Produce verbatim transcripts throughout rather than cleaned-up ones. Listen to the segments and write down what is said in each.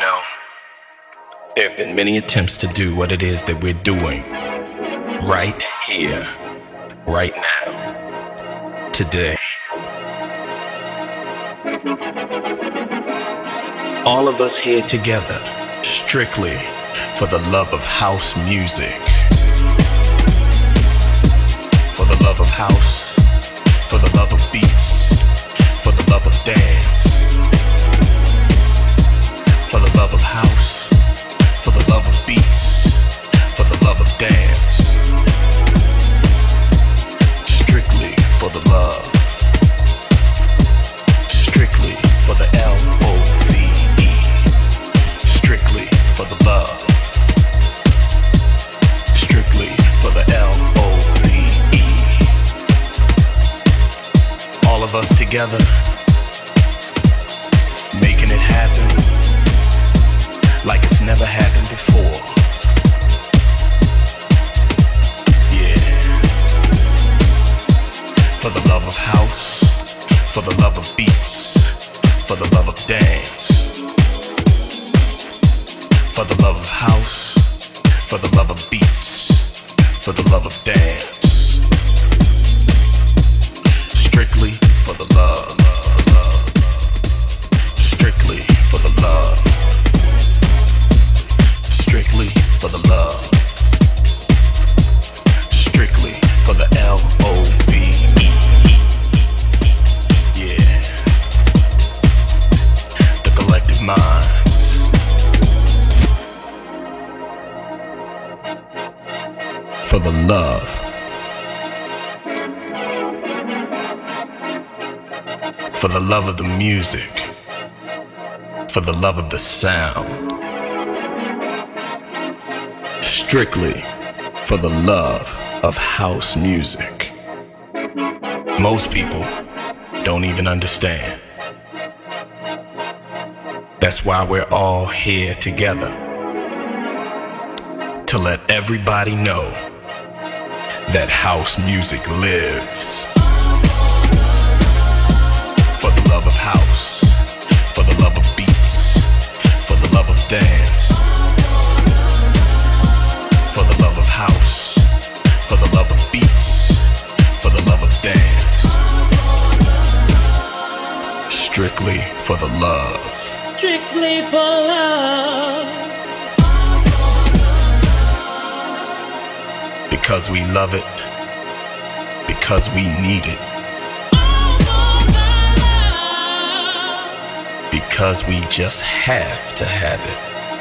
know, there have been many attempts to do what it is that we're doing right here, right now, today. All of us here together, strictly for the love of house music. For the love of house, for the love of beats, for the love of dance. For the love of house, for the love of beats, for the love of dance. Strictly for the love. Strictly for the L O V E. Strictly for the love. Strictly for the L O V E. All of us together, making it happen like it's never happened before. Yeah. For the love of house, for the love of beats, for the love of dance. For the love of house, for the love of beats, for the love of dance. Strictly for the love. Strictly for the love. Strictly for the love. Strictly for the L O V E. Yeah. The collective mind. For the love. For the love of the music. For the love of the sound. Strictly for the love of house music. Most people don't even understand. That's why we're all here together, to let everybody know that house music lives. For the love of house, for the love of beats, for the love of dance. For the love of house, for the love of beats, for the love of dance. Strictly for the love. Strictly for love. Because we love it, because we need it. Because we just have to have it.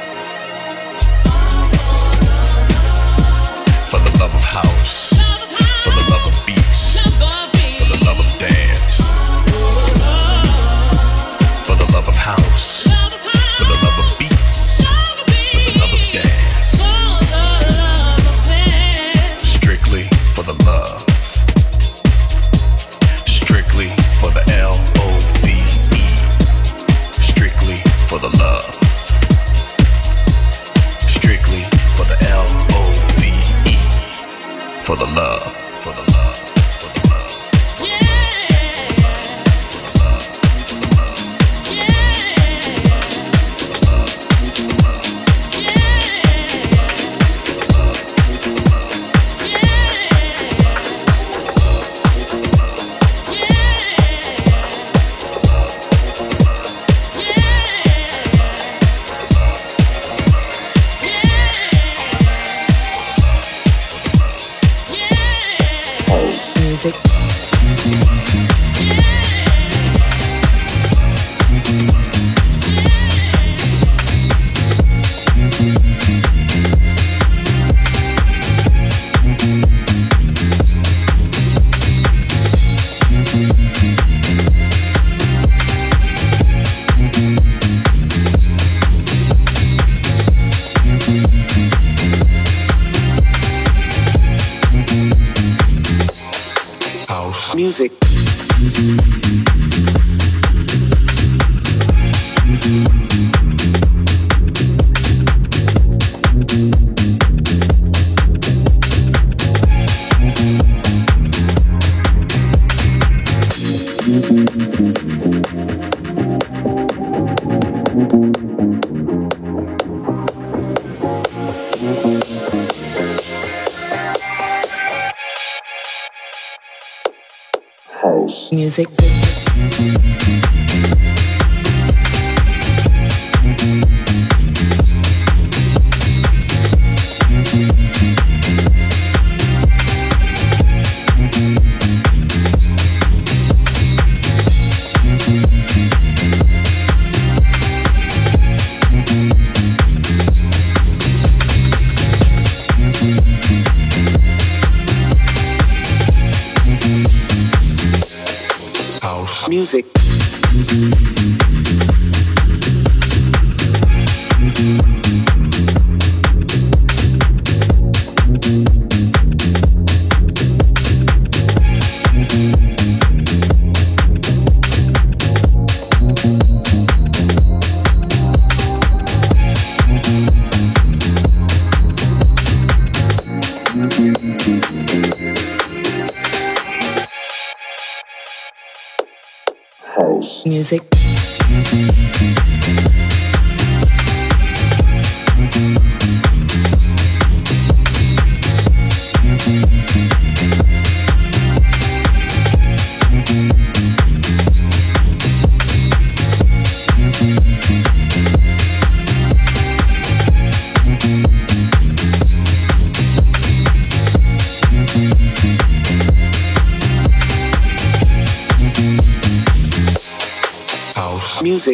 For the love of house, for the love of beats, for the love of dance. For the love of house, for the love of beats, for the love of dance. Strictly for the love. Strictly for the L O V E. Strictly for the love. Strictly for the L O V E. For the love, for the love, for the love. Music. Music. Music. Music. Music. Music.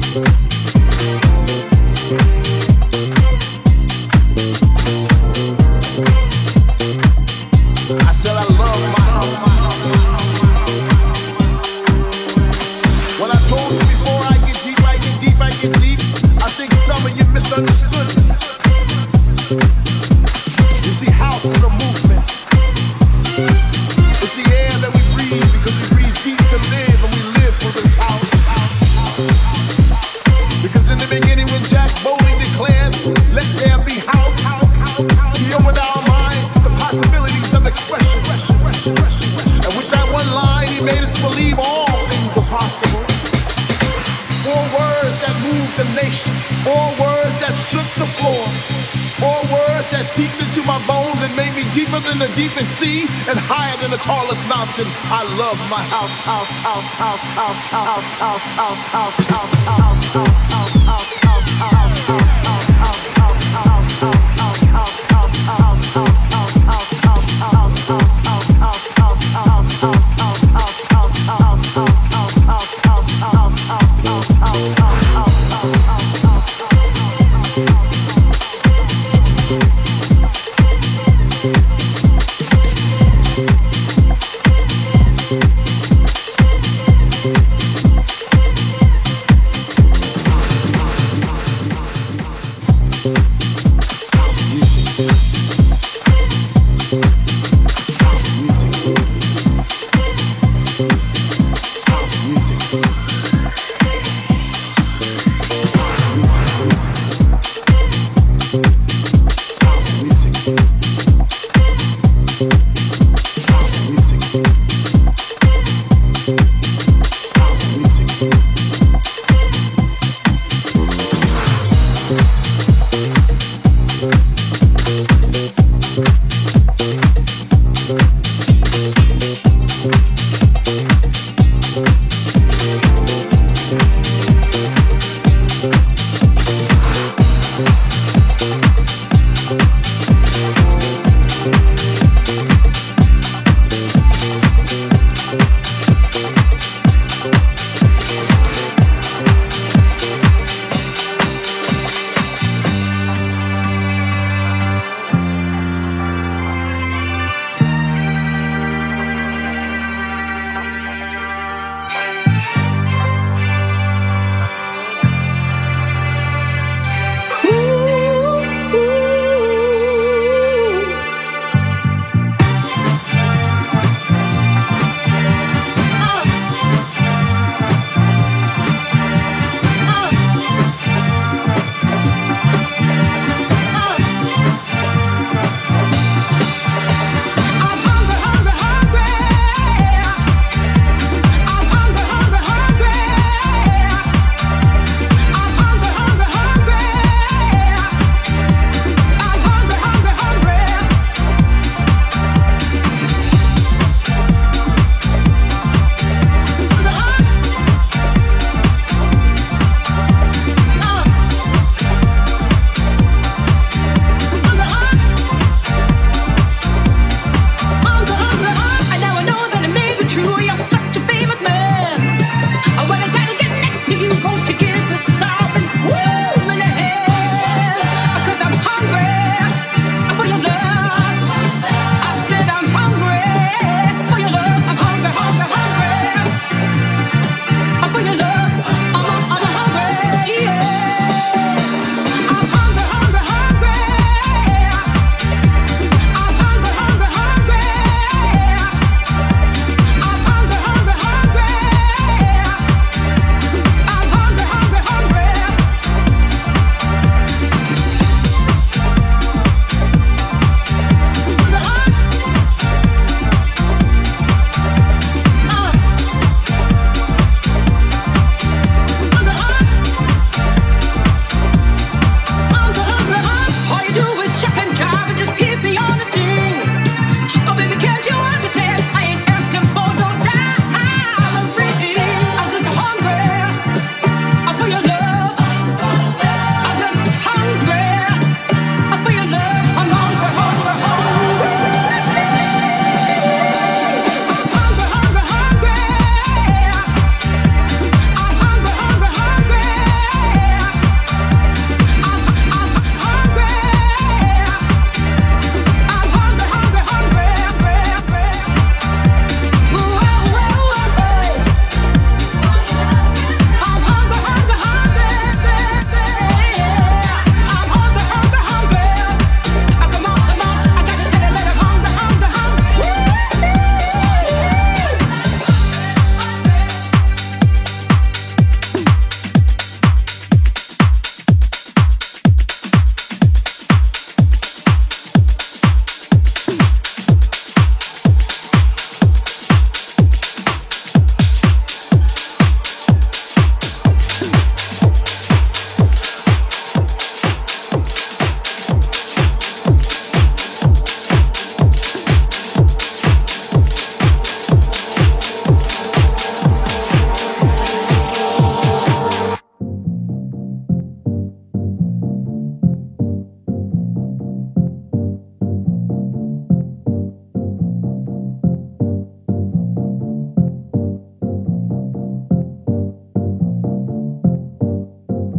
I love my house, house, house, house, house, house, house, house, house, house, house, house, house, house, house.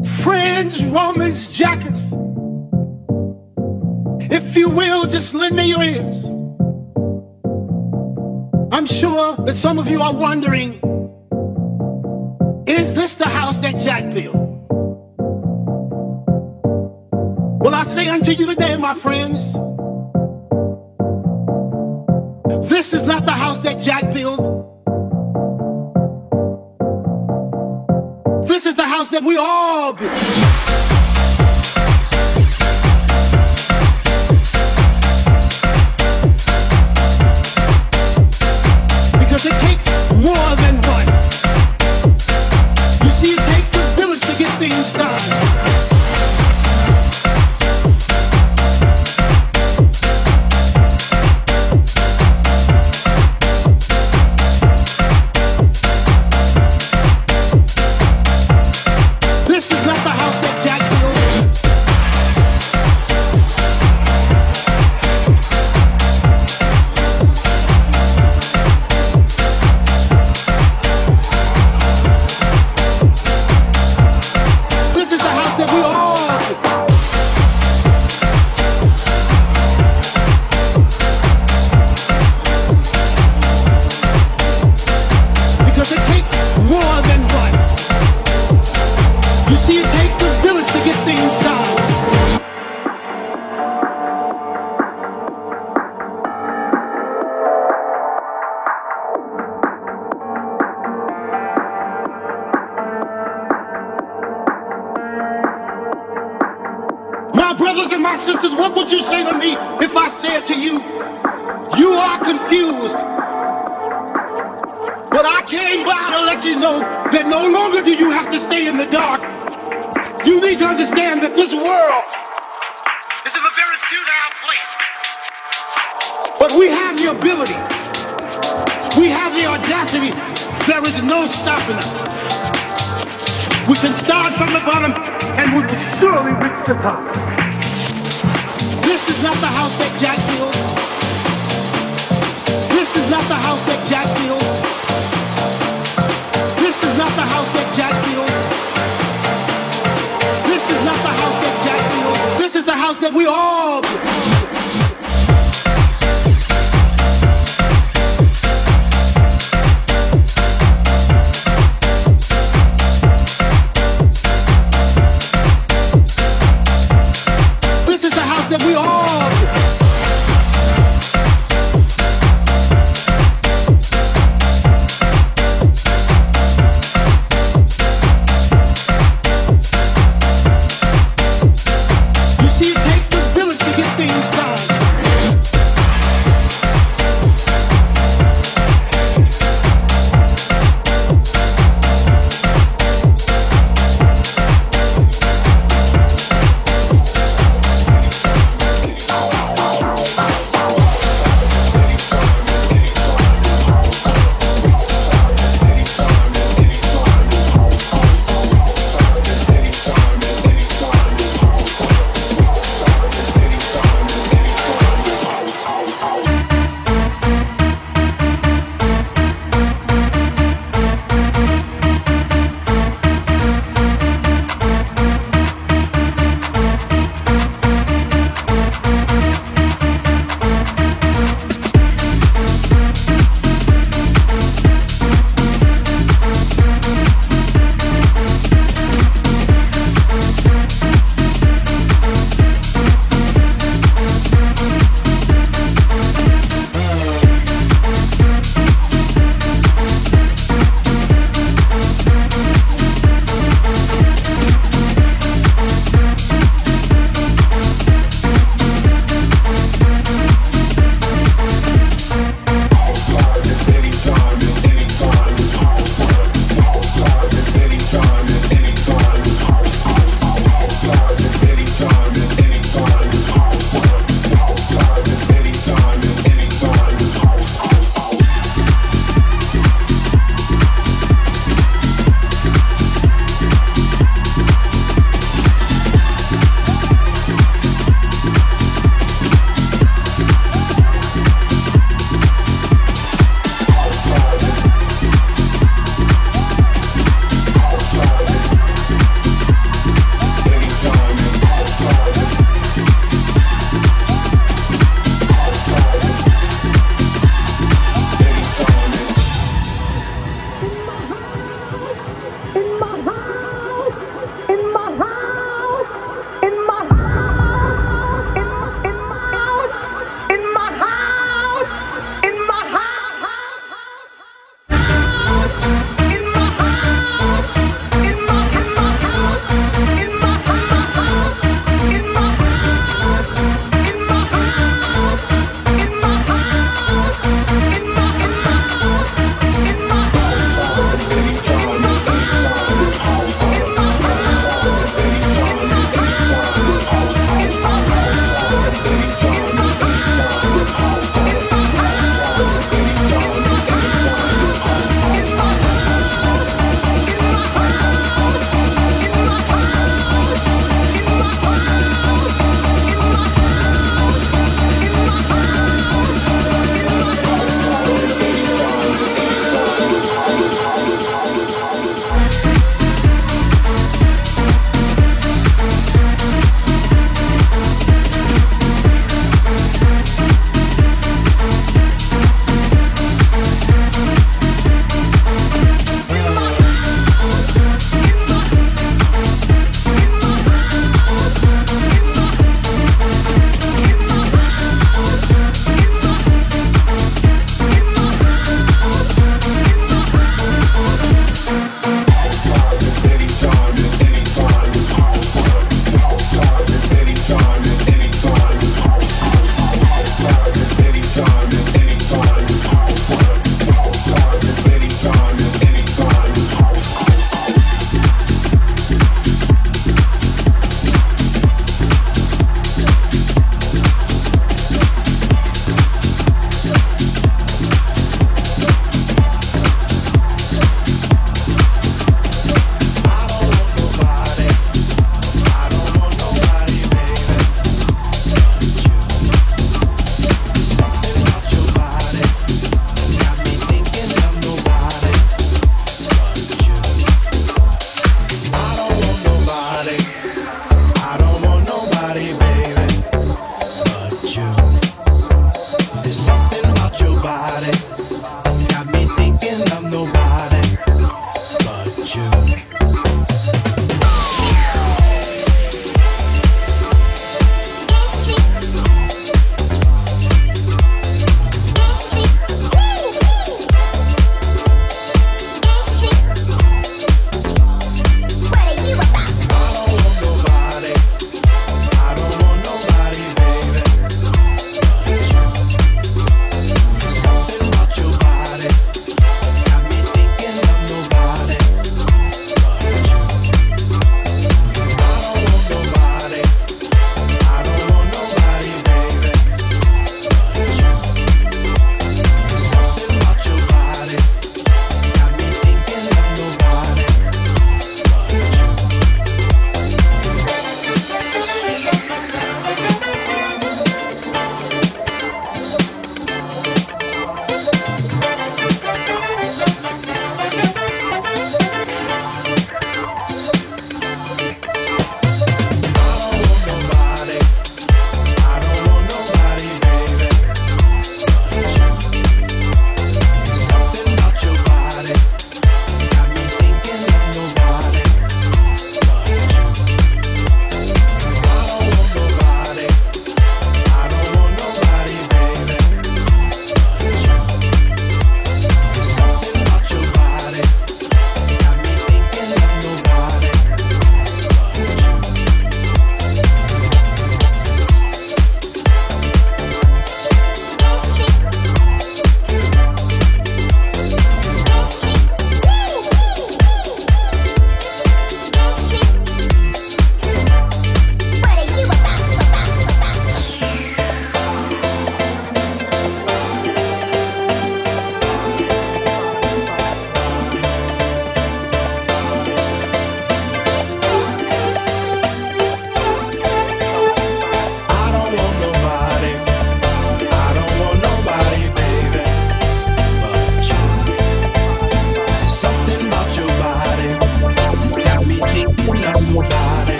Friends, Romans, jackers, if you will, just lend me your ears. I'm sure that some of you are wondering, is this the house that Jack built? Well, I say unto you today, my friends, this is not the house that Jack built. This is the house that we all build. Because it takes more than one. You see, it takes a village to get things done. Brothers and my sisters, what would you say to me if I said to you, you are confused? But I came by to let you know that no longer do you have to stay in the dark. You need to understand that this world is in a very futile place. But we have the ability, we have the audacity, there is no stopping us. We can start from the bottom and we will surely reach the top. This is not the house that Jack built. This is not the house that Jack built. This is not the house that Jack built. This is not the house that Jack built. This is the house that we all built. That we all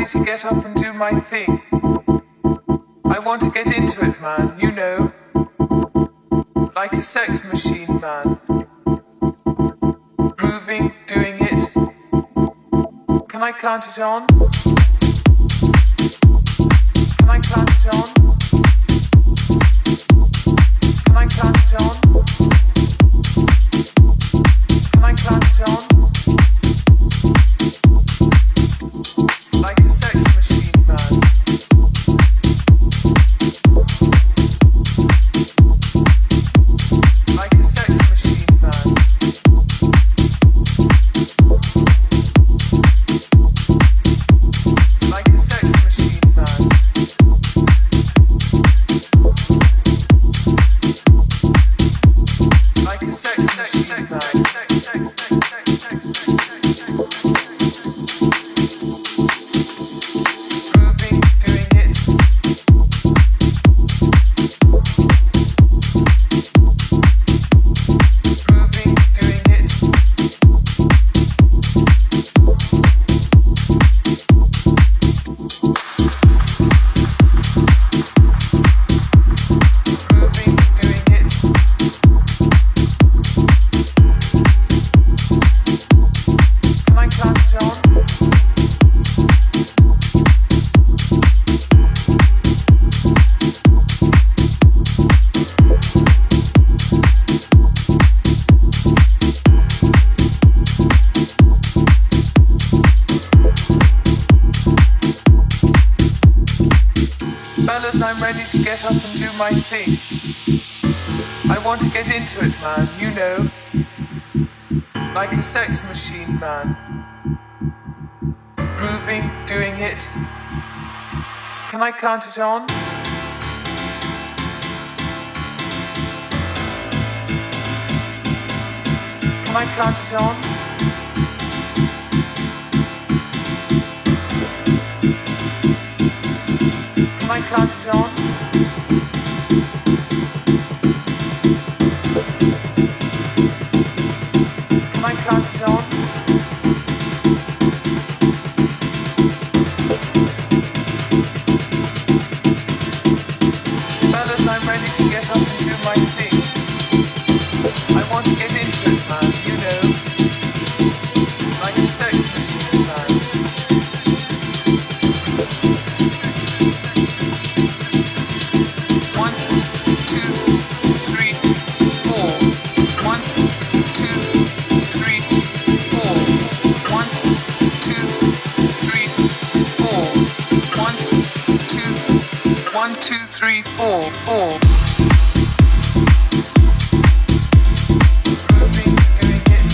ready to get up and do my thing. I want to get into it, man, you know. Like a sex machine, man. Moving, doing it. Can I count it on? Can I count it on? Can I count it on? Can I count it on? Like a sex machine, man. Like a sex machine, man. Like a sex machine, man. Like a sex machine, man. I'm ready to get up and do my thing. I want to get into it, man, you know. Like a sex machine, man. Moving, doing it. Can I count it on? Can I count it on? Can I count it on? Can I count it on? Fellas, I'm ready to get up and do my thing. I want to get into it, man, you know. Like a sex machine, man. One, two, three, four, four. Moving, doing it.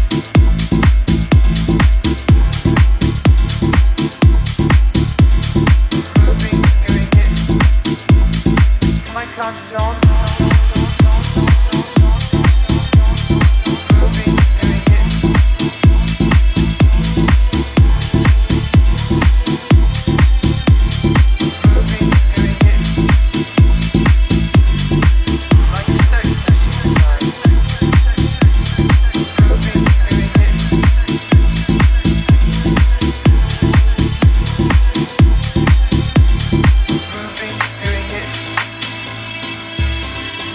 Moving, doing it. Can I count it on? Moving, doing it. Moving, doing it. Like a sex machine, man. Moving, doing it. Moving, doing it.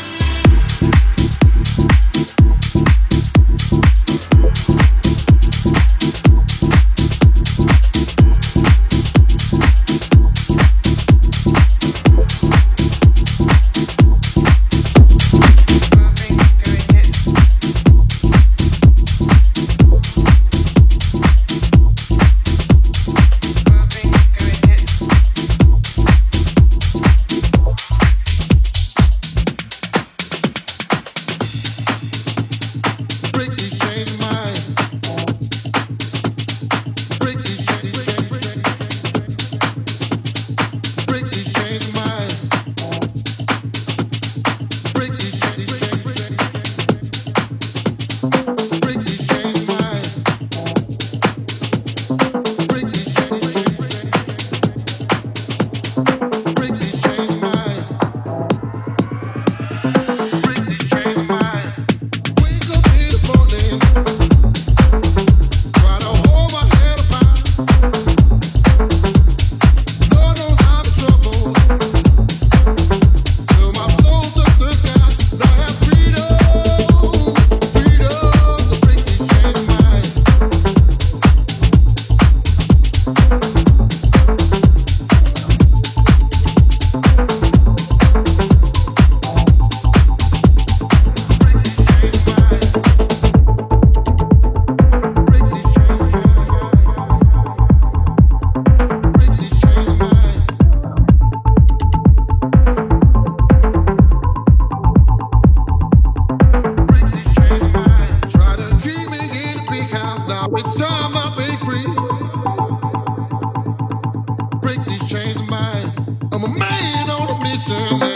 listen.